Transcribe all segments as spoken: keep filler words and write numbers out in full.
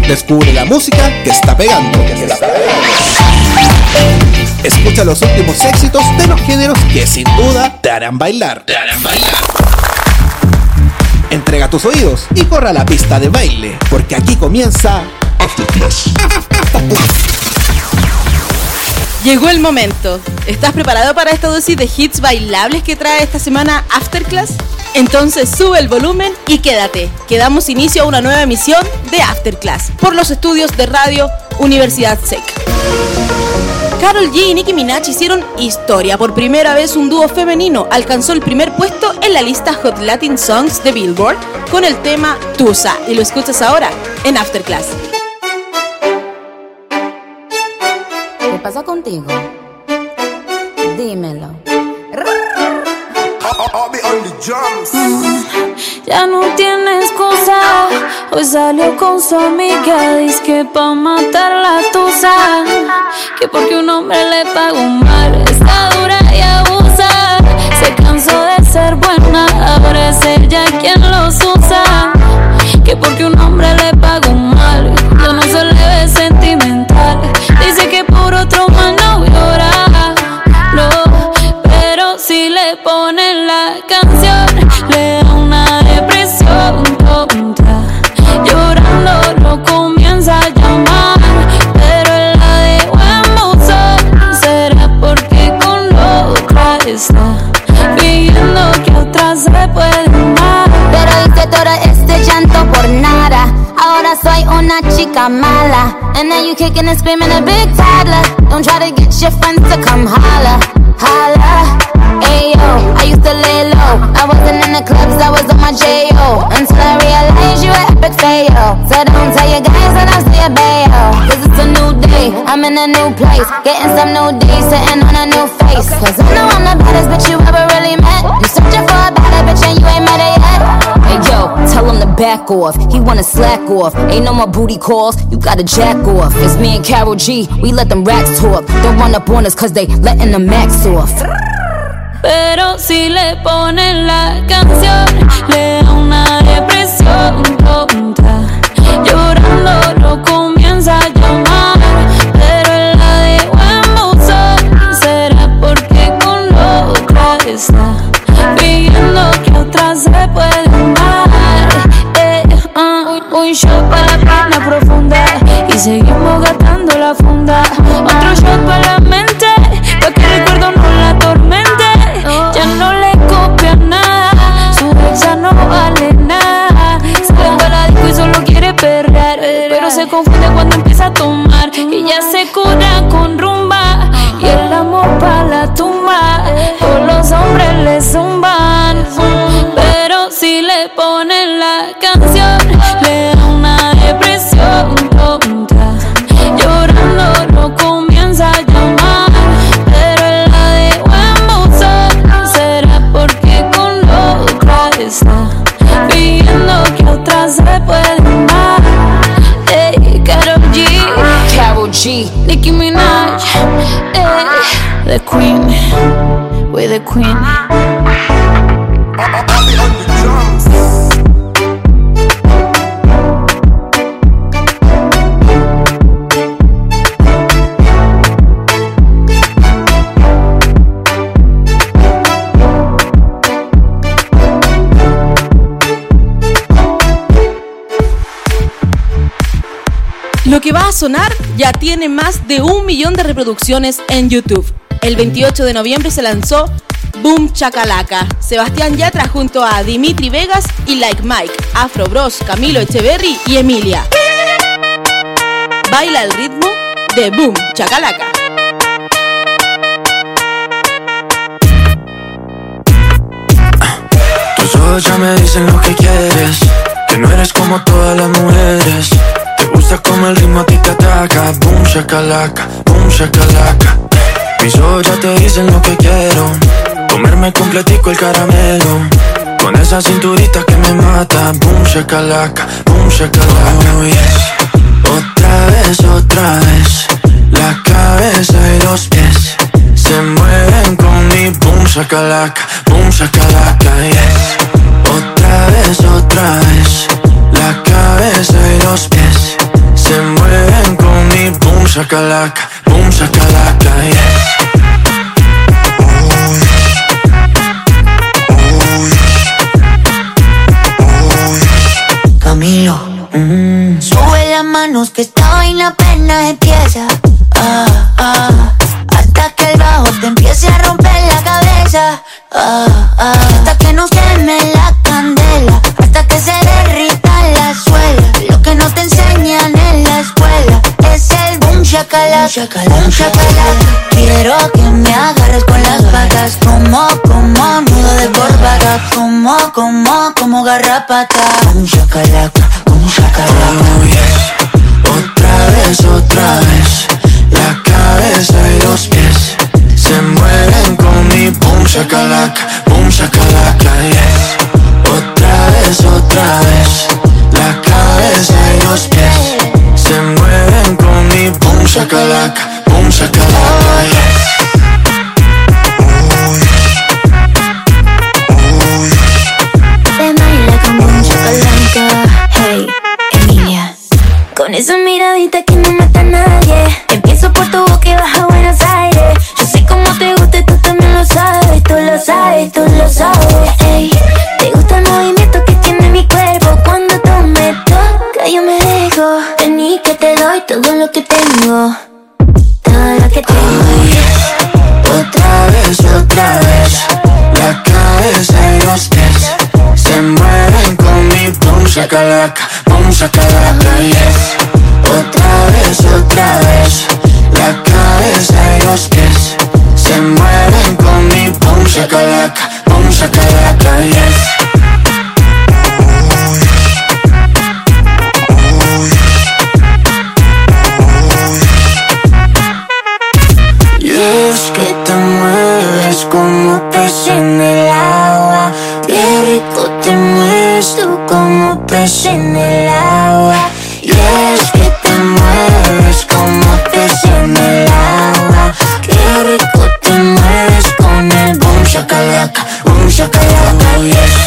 Descubre la música que está pegando. Que está pegando. Escucha los últimos éxitos de los géneros que sin duda te harán bailar. Te harán bailar. Entrega tus oídos y corra a la pista de baile, porque aquí comienza After Class. Llegó el momento. ¿Estás preparado para esta dosis de hits bailables que trae esta semana After Class? Entonces sube el volumen y quédate, que damos inicio a una nueva emisión de After Class por los estudios de Radio Universidad S E C. Karol G y Nicki Minaj hicieron historia. Por primera vez un dúo femenino alcanzó el primer puesto en la lista Hot Latin Songs de Billboard con el tema Tusa, y lo escuchas ahora en After Class. ¿Qué pasa contigo? Dímelo. Mm, ya no tiene excusa. Hoy salió con su amiga, dice que pa' matar la tusa, que porque un hombre le pagó mal, está dura y abusa. Se cansó de ser buena, ahora es ella quien los usa, que porque un hombre le pagó mal, ya no se le ve sentimental. Dice que por otro man no llora, no, pero si le ponen la canción le da una depresión tonta. Llorando lo comienza a llamar, pero él la dejó en buzón. Será porque con otra está fingiendo que otra se puede amar. Pero hice todo este llanto por nada. Ahora soy una chica mala. And now you kicking and screaming a big toddler. Don't try to get your friends to come holla, holla. Ayo, I used to lay low. I wasn't in the clubs, I was on my J O. Until I realized you were epic fail. So don't tell your guys that I'm still bail. Cause it's a new day, I'm in a new place. Getting some new days, sitting on a new face. Cause I know I'm the baddest bitch you ever really met. You searching for a better bitch and you ain't met her yet. Hey yo, tell him to back off. He wanna slack off. Ain't no more booty calls, you gotta jack off. It's me and Karol G, we let them racks talk. Don't run up on us cause they letting the max off. Pero si le ponen la canción le da una depresión tonta. Llorando lo comienza a llamar, pero él la dejó en buzón. Será porque con otra está fingiendo que otra se puede amar. eh, uh, Un shot para la pena profunda y seguimos gastando la funda. Otro shot para la mente, pa' que el recuerdo no la atormente. Ya no le copia nada, su ex ya no vale nada. Sale de la disco y solo quiere perrear, pero se confunde cuando empieza a tomar. Y ya se cura con rumba y el amor pa' la tumba. Todos los hombres le zumban, pero si le ponen la canción le da una depresión tonta. Llorando lo comienza a llamar, pero él la dejó en buzón. Será porque con otra está fingiendo que otra se puede amar. Hey, Karol G, Karol G, Nicki Minaj, hey, the queen, we're the queen. Lo que va a sonar ya tiene más de un millón de reproducciones en YouTube. El veintiocho de noviembre se lanzó Boom Shakalaka. Sebastián Yatra junto a Dimitri Vegas y Like Mike, Afro Bros, Camilo Echeverry y Emilia. Baila el ritmo de Boom Shakalaka. Tus ojos ya me dicen lo que quieres, que no eres como todas las mujeres. Te gusta como el ritmo a ti te ataca. Boom shakalaka, boom shakalaka. Mis ojos ya te dicen lo que quiero, comerme completico el caramelo, con esa cinturita que me mata. Boom shakalaka, boom shakalaka. Oh yes. Otra vez, otra vez, la cabeza y los pies se mueven con mi boom shakalaka, boom shakalaka, yes. Otra vez, otra vez, la cabeza y los pies shakalaka, boom shakalaka, yes. Oh yes, oh yes, oh yes. Camilo, mm. Sube las manos que esta vaina apenas empieza. Ah, ah, hasta que el bajo te empiece a romper la cabeza. Ah, ah, hasta que nos queme la candela, hasta que se derrita la suela. Lo que no te enseñan en la escuela es el boom shakalaka, boom shakalaka. Quiero que me agarres con las patas, como, como nudo de corbata, como, como, como garrapata. Boom shakalaka, boom shakalaka. Oh yes, otra vez, otra vez. La cabeza y los pies se mueven con mi boom shakalaka, boom shakalaka, yes. Otra vez, otra vez. La cabeza y los pies se mueven con mi boom shakalaka, boom shakalaka, yes. Oh yes, oh yes. Se baila con boom shakalaka. Hey, Emilia, con esa miradita que no mata a nadie. Empiezo por tu boca y baja a Buenos Aires. Yo sé cómo te gusta y tú también lo sabes. Tú lo sabes, tú lo sabes. Ey, te gusta el movimiento que tiene mi cuerpo. Cuando tú me tocas yo me dejo. Vení que te doy todo lo que tengo, todo lo que tengo. Oh yes, otra vez, otra vez. La cabeza y los pies se mueven con mi boom shakalaka, boom shakalaka, yes. Otra vez, otra vez. La cabeza y los pies se mueven con mi boom shakalaka, boom shakalaka, yes. Oh yes, oh yes, oh yes. Y es que te mueves como pez en el agua. Qué rico te mueves tú como pez en el agua. Y es que te mueves como pez en el agua. Qué rico te mueves con el boom shakalaka, boom shakalaka, oh yes.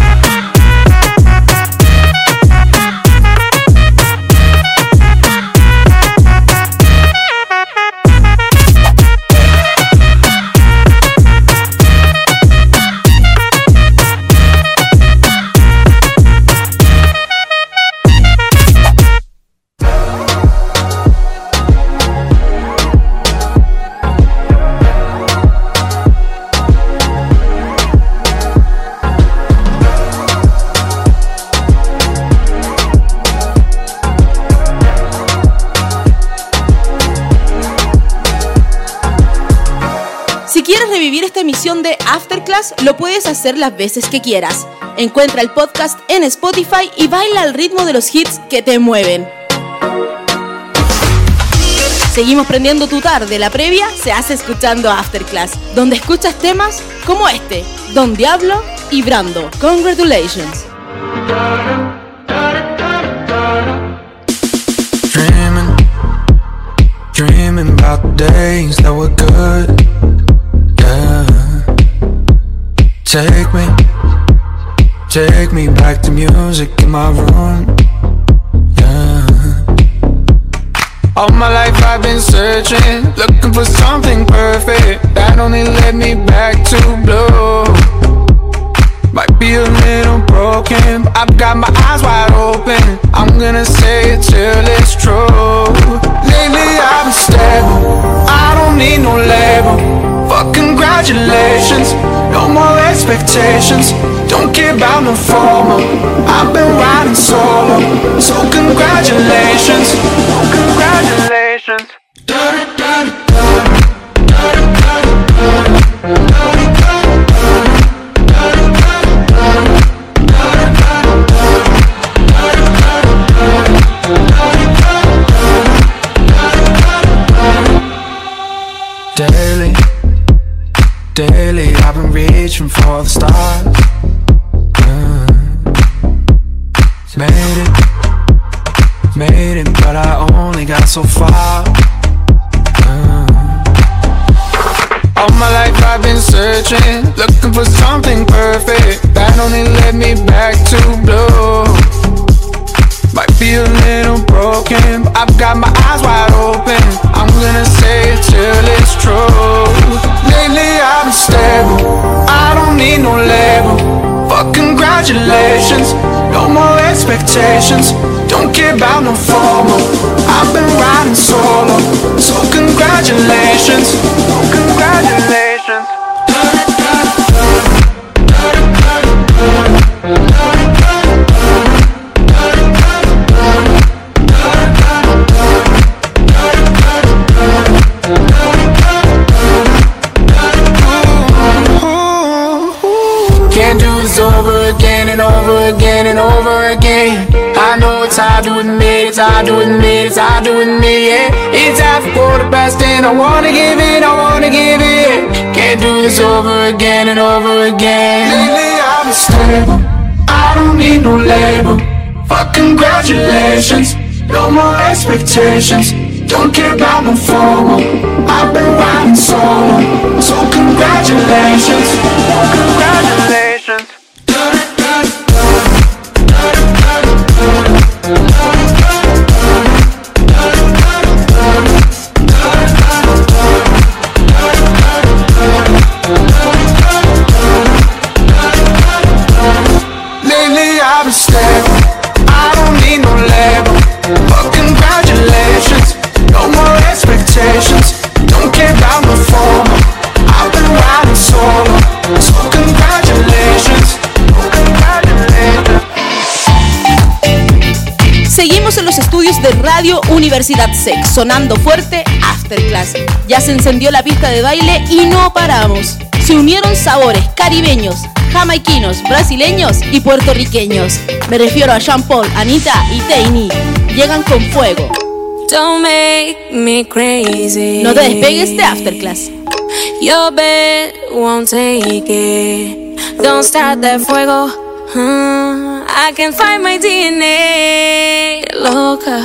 Revivir esta emisión de Afterclass lo puedes hacer las veces que quieras. Encuentra el podcast en Spotify y baila al ritmo de los hits que te mueven. Seguimos prendiendo tu tarde. La previa se hace escuchando Afterclass, donde escuchas temas como este, Don Diablo y Brando. Congratulations. Dreaming, dreaming about the days that were good. Yeah. Take me, take me back to music in my room. Yeah. All my life I've been searching, looking for something perfect that only led me back to blue. Might be a little broken, but I've got my eyes wide open. I'm gonna say it till it's true. Lately I've been stable, I don't need no label. Fuck congratulations, no more expectations. Don't care about no formal, I've been riding solo. So congratulations, oh congratulations. Daily, daily I've been reaching for the stars. uh, Made it, made it, but I only got so far. uh, All my life I've been searching, looking for something perfect that only led me back to blue. Might be a little broken, but I've got my eyes wide open. I'm congratulations. No more expectations. Don't care about no formal. I've been riding solo. So congratulations. Oh, congratulations. Can't do this over again and over again and over again. I know it's hard doing me, it's hard doing me, it's hard doing me, yeah. It's half a quarter past ten, I wanna give it, I wanna give it. Can't do this over again and over again. Lately I'm stable, I don't need no label. Fuck congratulations, no more expectations. Don't care about no formal. I've been riding solo. So congratulations, congratulations. Lately I've been stable, I don't need no label. But congratulations, no more expectations. Don't care about no formal. I've been riding solo. So congratulations, oh, congratulations. Seguimos en los estudios de Radio Universidad S E C, sonando fuerte Afterclass. Ya se encendió la pista de baile y no paramos. Se unieron sabores caribeños, jamaiquinos, brasileños y puertorriqueños. Me refiero a Sean Paul, Anita y Tainy. Llegan con fuego. Don't make me crazy. No te despegues de Afterclass. Your bed won't take it. Don't start that fuego. Uh, I can find my D N A. Loca.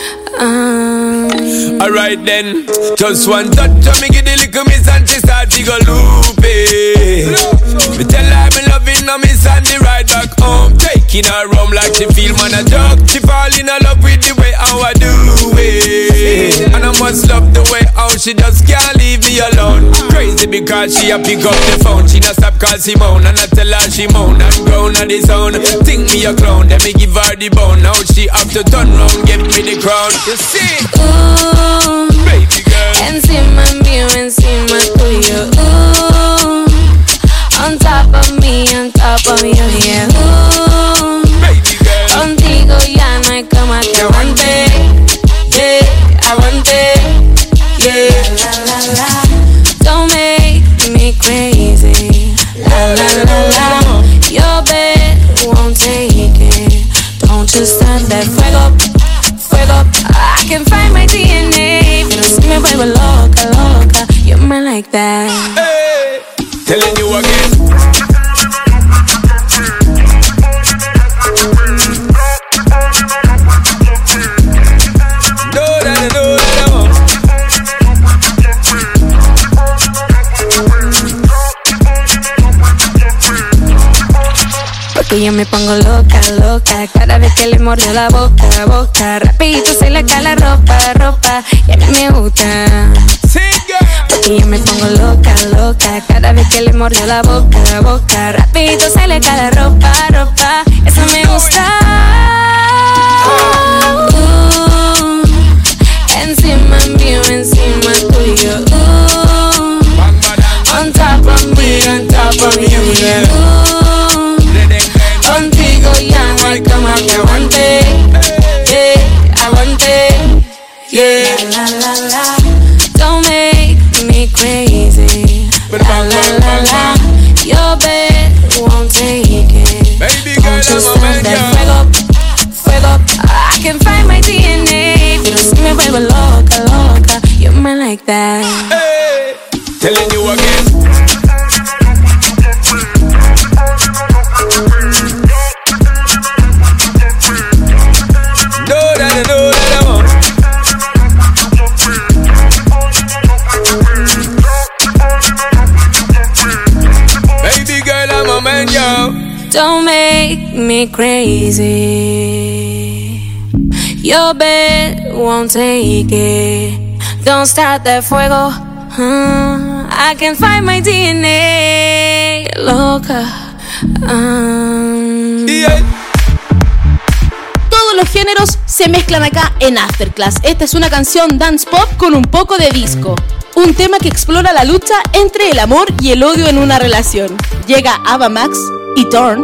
Um. Alright then, just one touch of me give the little miss and she start to go loopy. Me tell her me loving her miss and the ride back home. Taking her home like she feel man a joke. She fall in love with the way how I do it. And I must love the way how she just can't leave me alone. Crazy because she a pick up the phone. She not stop call Simone and I tell her she moan and groan on the sound. Think me a clown, then me give her the bone. Now she have to turn round, give me the crown. You see? Ooh, baby girl. Encima mío, encima tuyo. Ooh, on top of me, on top of you, yeah. Ooh, baby girl. Contigo ya no hay cama que aguante. Yeah, aguante. Yeah, la la la. Don't make me crazy. La la la la. Your bed won't take it. Don't you start that fuego, fuego. I can find my D N A. Pero si me vuelvo loca, loca. You're mine like that. Hey, telling you again. No, that, no, that, no. Porque yo me pongo loca, loca. Cada vez que le mordió la boca, boca. Rapidito se le cae la ropa, ropa. Y a mí me gusta. Porque yo me pongo loca, loca. Cada vez que le mordió la boca, boca. Rapidito se le cae la ropa, ropa. Eso me gusta. Uh, encima mío, encima tuyo. Uh, on top of me, on top of you, yeah. Uh, contigo ya no hay cama que aguante. Yeah, aguante. Yeah, la la la. Don't make me crazy. La la la la. Your bed won't take it. Baby girl, Don't you I'm a man, start that yeah. fuego, fuego. I can find my D N A. Pero si me vuelvo loca, loca. You're mine like that. Hey, telling you again. No, that, no, that, no. Baby girl, I'm a man, yo. Don't make me crazy. Your bed won't take it. Don't start that fuego. Uh, I can find my D N A. Loca. Um, géneros se mezclan acá en Afterclass. Esta es una canción dance pop con un poco de disco. Un tema que explora la lucha entre el amor y el odio en una relación. Llega Ava Max y Torn.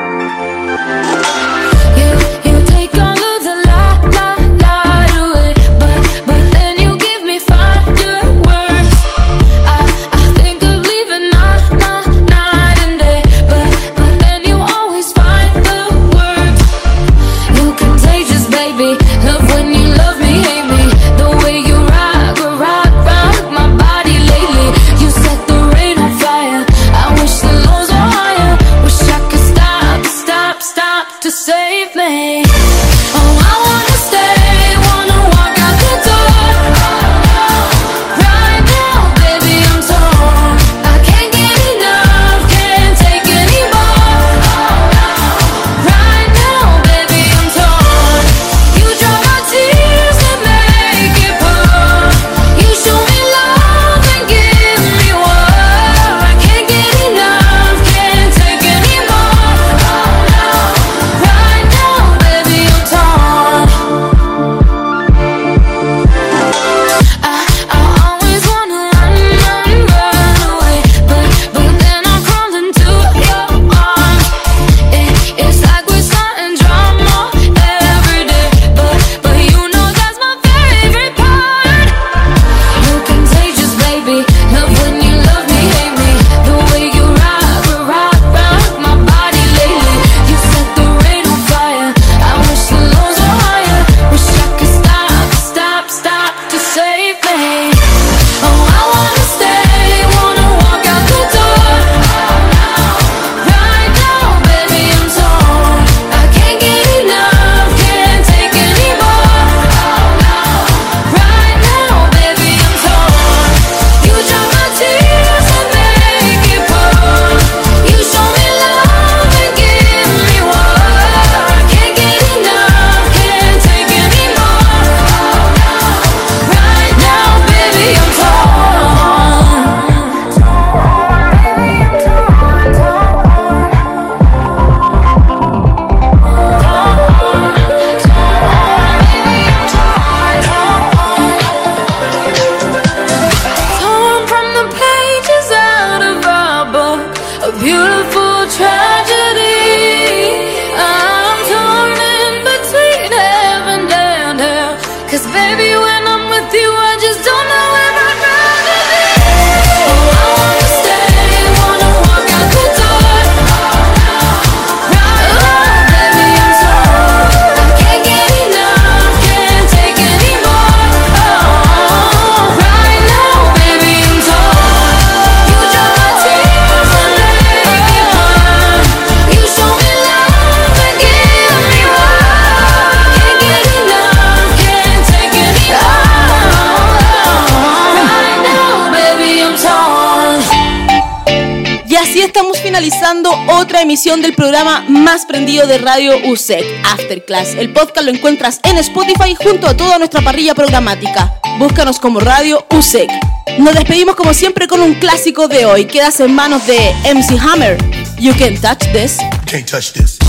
Finalizando otra emisión del programa más prendido de Radio U S E C, Afterclass. El podcast lo encuentras en Spotify junto a toda nuestra parrilla programática. Búscanos como Radio U S E C. Nos despedimos como siempre con un clásico de hoy. Quedas en manos de M C Hammer. You Can't Touch This. You can't touch this.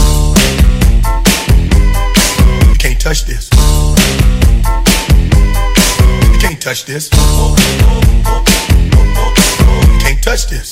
You can't touch this. You can't touch this. You can't touch this.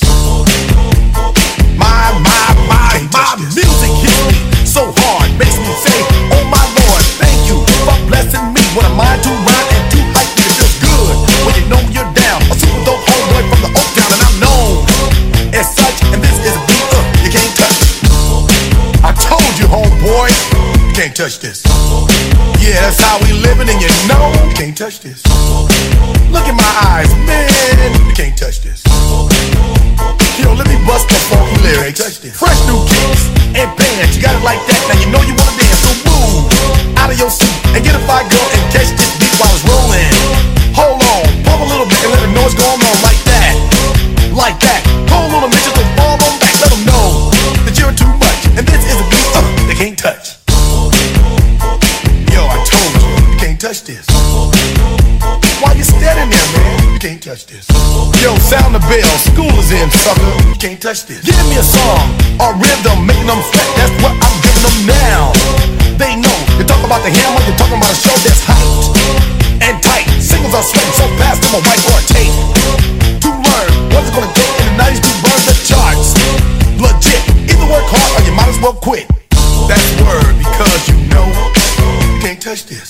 My, my, my, my music hits me so hard, makes me say, oh my Lord, thank you for blessing me. What a mind to rhyme and to hype me, it feels good when you know you're down. A super dope homeboy from the Oak Town and I'm known as such, and this is a beat up, you can't touch it. I told you homeboy, you can't touch this. Yeah, that's how we living and you know, you can't touch this. Look in my eyes, man, you can't touch this. Yo, let me bust the funky lyrics. Fresh new kicks and bands, you got it like that. Now you know you wanna dance, so move out of your seat and get a fire girl and catch this beat while it's rolling. Hold on, pump a little bit and let them know what's going on like that, like that. Hold on a minute, just fall on back, let them know that you're too much. And this is a beat uh, they can't touch. Yo, I told you, you can't touch this. Why you standing there, man? You can't touch this. Yo, sound the bell, school is in, sucker. You can't touch this. Give me a song, a rhythm, making them sweat. That's what I'm giving them now. They know, you talk about the the ham when you're talking about a show that's hyped and tight. Singles are sweating so fast on my whiteboard tape. To learn what's it gonna take in the nineties to burn the charts. Legit, either work hard or you might as well quit. That's word because you know you can't touch this.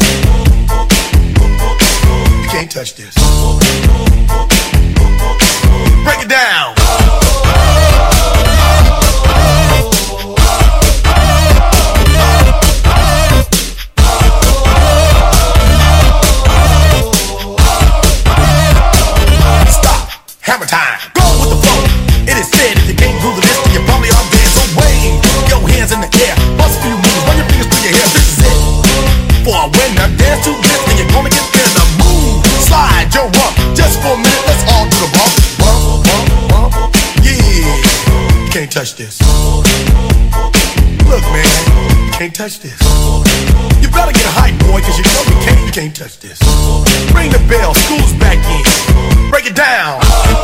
You can't touch this. Break it down. Hammer time. Go with the flow. It is said if you can't do the list, then you probably are dead. So wave your hands in the air. Bust a few moves. Run your fingers through your hair. This is it. For a winner, dance to this, and you're gonna get there. The move, slide your rump. Just for a minute, let's all do the bump, bump, bump, bump. Yeah, you can't touch this. Look, man, you can't touch this. You better get a hype, boy, cause you know you can't, you can't touch this. Ring the bell, school's back in. Break it down.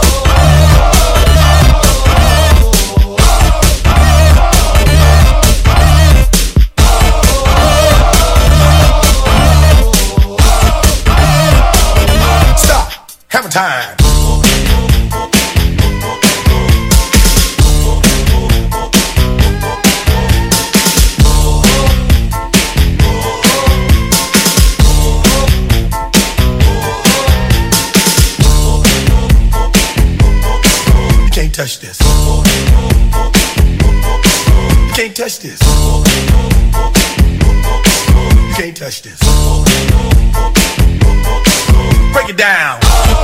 Stop. Hammer time. Touch this. You can't touch this. You can't touch this. Break it down.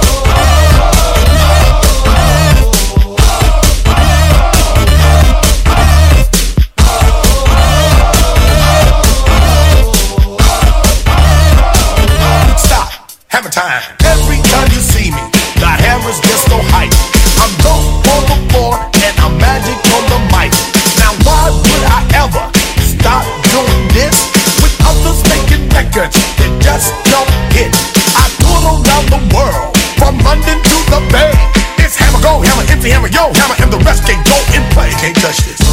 Stop. Hammer time. Every time you see me, the hammer's just so hype. I'm dope on the floor and I'm magic on the mic. Now why would I ever stop doing this? With others making records that just don't hit. I tour around the world, from London to the Bay. It's hammer go, hammer empty, hammer yo, hammer and the rest can go and play. You can't touch this.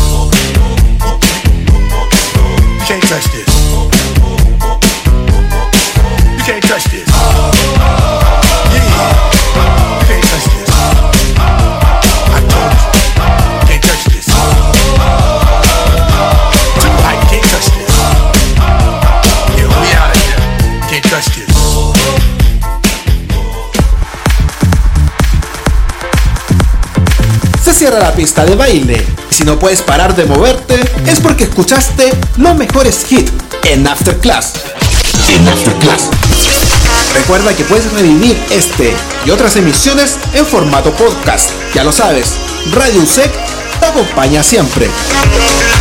You can't touch this. You can't touch this. Yeah. You can't touch this. Se cierra la pista de baile. Si no puedes parar de moverte, es porque escuchaste los mejores hits en After Class. En After Class. Recuerda que puedes revivir este y otras emisiones en formato podcast. Ya lo sabes, Radio U S E C te acompaña siempre.